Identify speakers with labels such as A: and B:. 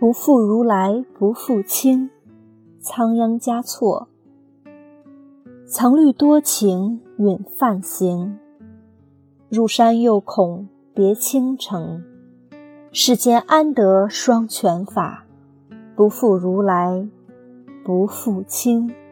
A: 不负如来不负卿，仓央嘉措。曾虑多情允梵行，入山又恐别倾城。世间安得双全法，不负如来不负卿。